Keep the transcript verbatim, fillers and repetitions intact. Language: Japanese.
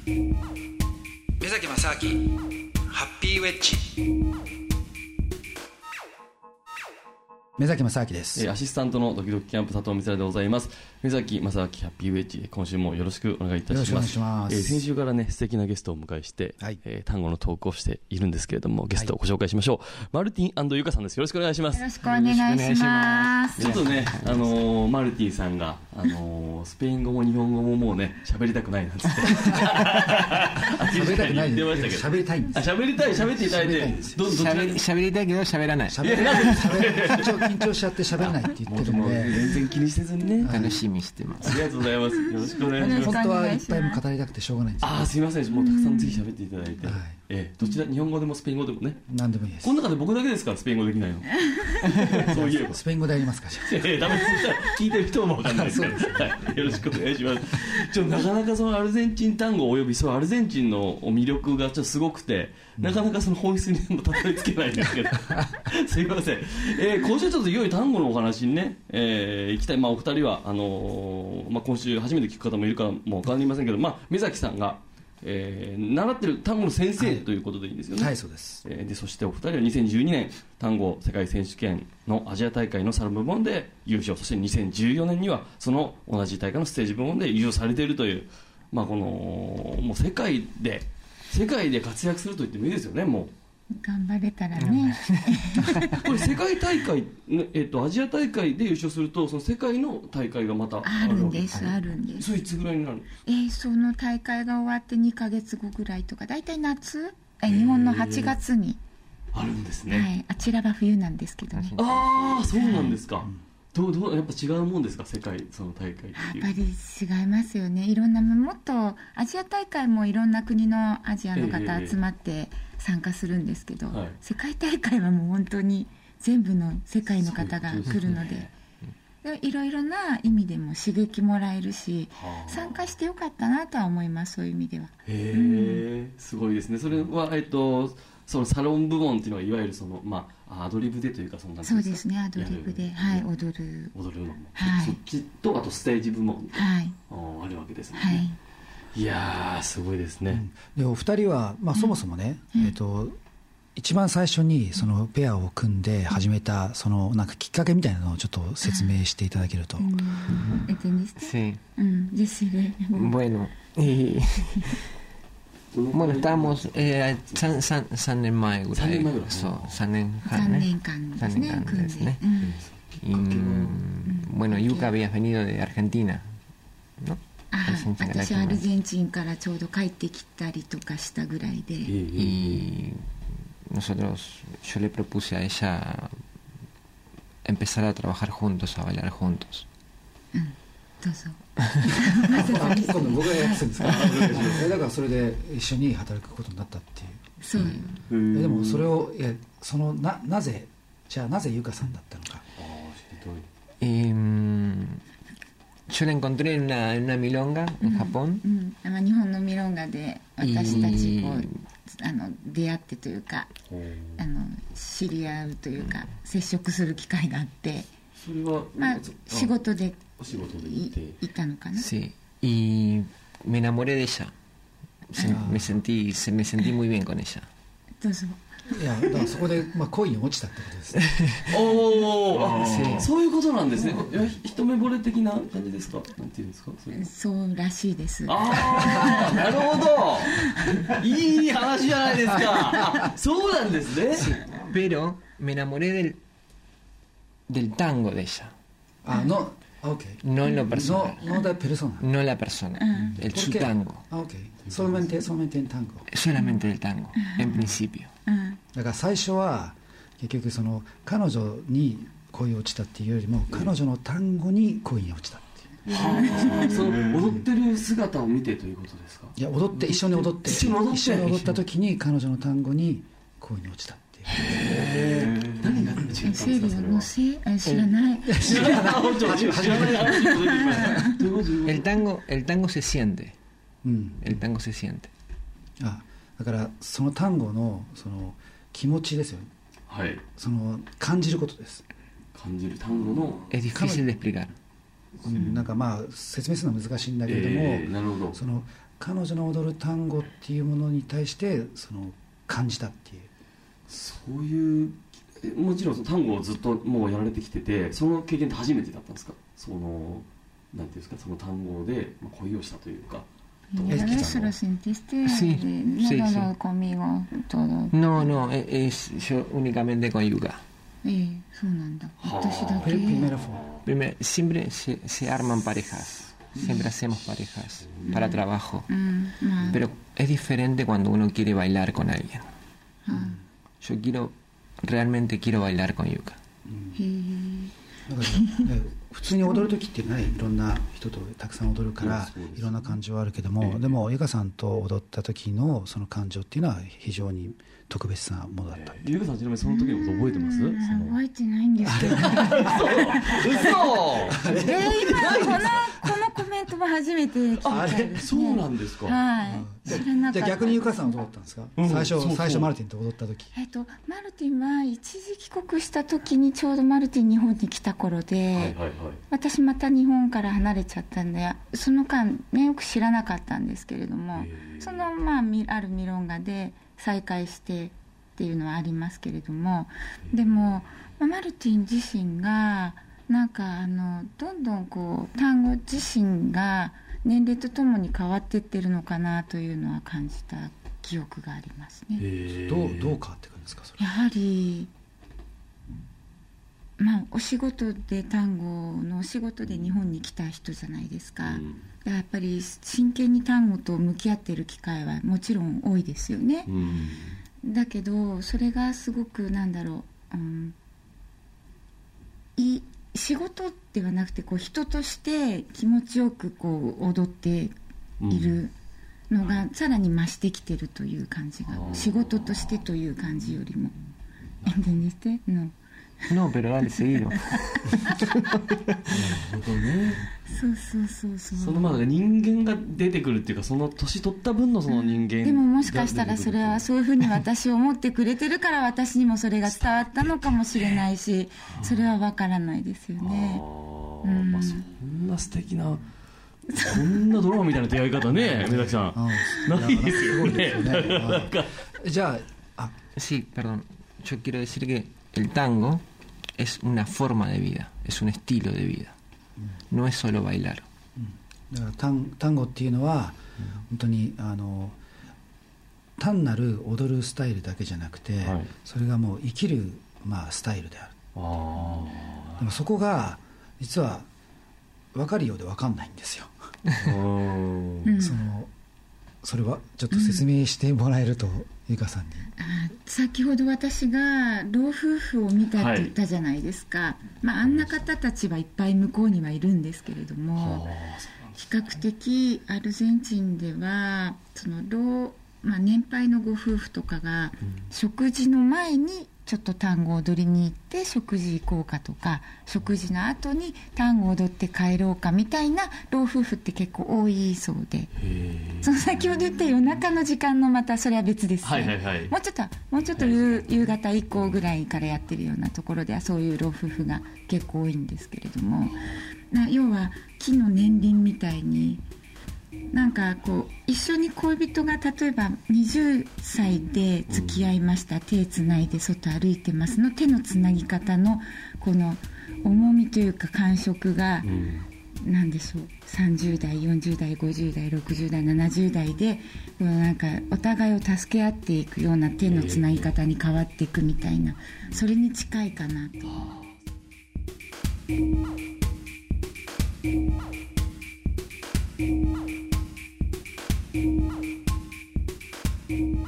目崎正明ハッピーウェッジ。目崎正明です。 アシスタントのドキドキキャンプ佐藤光でございます。目崎正明ハッピーウェッジ、今週もよろしくお願いいたします。 よろしくお願いします。 えー、先週からね素敵なゲストをお迎えして、はいえー、単語のトークをしているんですけれども、ゲストをご紹介しましょう、はい、マルティン&ユカさんです。よろしくお願いします。 よろしくお願いします。 ちょっとね、あのー、マルティンさんが、あのー、スペイン語も日本語ももうね喋りたくないなんつって喋りたくない言ってましたけど、 喋りたいんです。 喋りたい喋っていただいて、どど喋りたいけど喋らない。 喋らない。緊張緊張しちゃって喋らないって言ってるので、 全然気にせずにね、 楽しみしてます。 ありがとうございます。よろしくお願いします。 本当はいっぱいも語りたくてしょうがないんです。 ああ、すみません。もうたくさんぜひ喋っていただいて、はい、えー、どちら、日本語でもスペイン語でもね、 何でもいいです。 この中で僕だけですからスペイン語できないの。そういえばスペイン語でやりますか。じゃあ、 えー、ダメです。聞いてる人も分かんないですから、はい、よろしくお願いします。ちょなかなかそのアルゼンチン単語およびそのアルゼンチンの魅力がちょっとすごくて、うん、なかなかその本質にもたどり着けないんですけどすいません、えー、今週ちょっといよいよ単語のお話にね、えー、行きたい。まあ、お二人はあのーまあ、今週初めて聞く方もいるかも分かりませんけど、まあ、目崎さんが、えー、習ってる単語の先生ということでいいんですよね。 はい、はい、そうです。 えー、でそしてお二人はにせんじゅうにねん単語世界選手権のアジア大会のサル部門で優勝、そしてにせんじゅうよねんにはその同じ大会のステージ部門で優勝されているという、まあ、このもう世界で世界で活躍すると言ってもいいですよね。もう頑張れたらねこれ世界大会、えっと、アジア大会で優勝するとその世界の大会がまたあるんです。あるんです。 それいつぐらいになるんですか。 えー、その大会が終わってにかげつごぐらいとか、だいたい夏、え日本のはちがつにあるんですね。 はい、あちらは冬なんですけどね。 ああ、そうなんですか。はい、どうどうやっぱ違うもんですか、世界その大会っていう。 やっぱり違いますよね。いろんなもっとアジア大会もいろんな国のアジアの方集まって参加するんですけど、えーはい、世界大会はもう本当に全部の世界の方が来るので、いろいろな意味でも刺激もらえるし、参加してよかったなとは思います。そういう意味では。 へー、うん、すごいですね。それは、えっとそのサロン部門っていうのはいわゆるその、まあ、アドリブでというか、そんなそうですね、アドリブで、はい、踊る踊るのも、 はい、 そっちとあとステージ部門、 はい、 あるわけですね。 はい、 いやーすごいですね。 うん、でお二人は、まあ、そもそもね、うんえー、と一番最初にそのペアを組んで始めたそのなんかきっかけみたいなのをちょっと説明していただけると。 Sí. Bueno, bueno, estábamos eh, さんねんまえぐらい、そうさんねんかんね、さんねんかんですね。Y bueno, Yuka habías venido de Argentina, ¿no? あ私はアルゼンチンからちょうど帰ってきたりとかしたぐらいで。 Y nosotros, yo le propuse a ella empezar a trabajar juntos, a bailar juntos. うんどうぞ今度僕がやってたんですか。だからそれで一緒に働くことになったっていう。 そう、 うん、でもそれをいやその な, なぜじゃあなぜゆかさんだったのか。 eh, yo la encontré en una, en una milonga en Japón、 うんうん、日本のミロンガで私たちこうあの出会ってというかあの知り合うというか、うん、接触する機会があって、 それは、 まあ、仕事でお仕事で行っていたのかな。 Sí, y me enamoré de ella. Me sentí, me sentí muy bien con ella. どうぞ。 いやだからそこで、まあ、恋に落ちたってことですね。 おー、そういうことなんですね。一目惚れ的な感じですか。なんていうんですか。そ, そうらしいです。 ああ、なるほど。いい話じゃないですか。そうなんですね。 Sí, pero me enamoré del del tango de ella. Ah, no. Okay. No en lo personal. No, no la persona. No la persona. Uh-huh. El su tango. Ah, okay. Solamente, solamente el tango. Solamente el tango, uh-huh. en principio. Uh-huh. だから最初は結局その彼女に恋落ちたっていうよりも、彼女の単語に恋に落ちたっていう。 はあ、その踊ってる姿を見てということですか。 いや踊って一緒に踊って一緒に踊った時に彼女の単語に恋に落ちたっていう。 へー、何が違ったんですか。それは知らない。 知らない。知らない。 El tango, el tango se siente. うん。 El tango se siente. あ、だからその単語のその気持ちですよね。 はい。 その感じることです。 感じる単語の。 Es difícil de explicar. うん、なんかまあ説明するのは難しいんだけれども、 えー、なるほど。 その彼女の踊る単語っていうものに対してその感じたっていう。 そういうもちろんその単語をずっともうやられてきてて、その経験って初めてだったんですか？そのなんていうんですか、その単語で恋をしたというか。 ¿Eso lo sentiste? Sí, sí, no, no, conmigo todo. No, no, es yo únicamente con Yuka. Eh, そうなんだ。私だけ。 Primero fue. Siempre se, se arman parejas. Siempre hacemos parejas para trabajo. Pero es diferente cuando uno quiere bailar con alguien. Yo quiero, realmente quiero bailar con Yuka. だからね、普通に踊る時ってね、いろんな人とたくさん踊るからいろんな感情はあるけども、でもゆかさんと踊った時のその感情っていうのは非常に特別なものだった。 ゆかさんちなみにその時のこと覚えてます？ 覚えてないんですけど。嘘。えー、今このこのコメントも初めて聞いたんですね。 そうなんですか。 はい。知らなかった。 じゃあ逆にゆかさんはどうだったんですか？うん、最初そうそう最初マルティンと踊った時。 えっとマルティンは一時帰国した時にちょうどマルティン日本に来た頃で、はいはいはい、私また日本から離れちゃったんで、その間ねよく知らなかったんですけれども、そのまああるミロンガで再会してっていうのはありますけれども、でもマルティン自身がなんかあのどんどんこう単語自身が年齢とともに変わっていってるのかなというのは感じた記憶がありますね。 どうどう変わってくるんですか？それやはりまあお仕事で単語のお仕事で日本に来た人じゃないですか、うん、やっぱり真剣に単語と向き合っている機会はもちろん多いですよね、うん、だけどそれがすごくなんだろう、うん、い仕事ではなくてこう人として気持ちよくこう踊っているのがさらに増してきてるという感じが、仕事としてという感じよりも¿Entendiste? No. No, pero dale, seguido. そうそうそうそう。 そのまあ人間が出てくるっていうか、その年取った分のその人間、うん、 でももしかしたらそれはそういうふうに私を思ってくれてるから私にもそれが伝わったのかもしれないし、それは分からないですよね。 あ、うん、まあ、そんな素敵なこんなドラマみたいな出会い方ね、目崎さん、ないですよね。 じゃあ、 sí, perdón. Yo quiero decir que el tango es una forma de vida, es un estilo de vida, no es solo bailar. だから単単語っていうのは本当にあの単なる踊るスタイルだけじゃなくて、はい、それがもう生きる、まあ、スタイルである。あ、でもそこが実は分かるようで分かんないんですよ。そのそれはちょっと説明してもらえると、うん、ゆかさんに。 あ、先ほど私が老夫婦を見たって言ったじゃないですか、はい、まあ、あんな方たちはいっぱい向こうにはいるんですけれども、比較的アルゼンチンではその老、まあ、年配のご夫婦とかが食事の前にちょっと単語を踊りに行って食事行こうかとか、食事の後に単語を踊って帰ろうかみたいな老夫婦って結構多いそうで、その先ほど言った夜中の時間のまたそれは別ですね、はいはいはい、もうちょっともうちょっと 夕,、はい、夕方以降ぐらいからやってるようなところではそういう老夫婦が結構多いんですけれども、な要は木の年輪みたいになんかこう一緒に恋人が例えばはたちで付き合いました、うん、手つないで外歩いてますの手のつなぎ方のこの重みというか感触が、うん、なんでしょう、さんじゅう代よんじゅう代ごじゅう代ろくじゅう代ななじゅう代でこのなんかお互いを助け合っていくような手のつなぎ方に変わっていくみたいな、それに近いかなと。Thank you.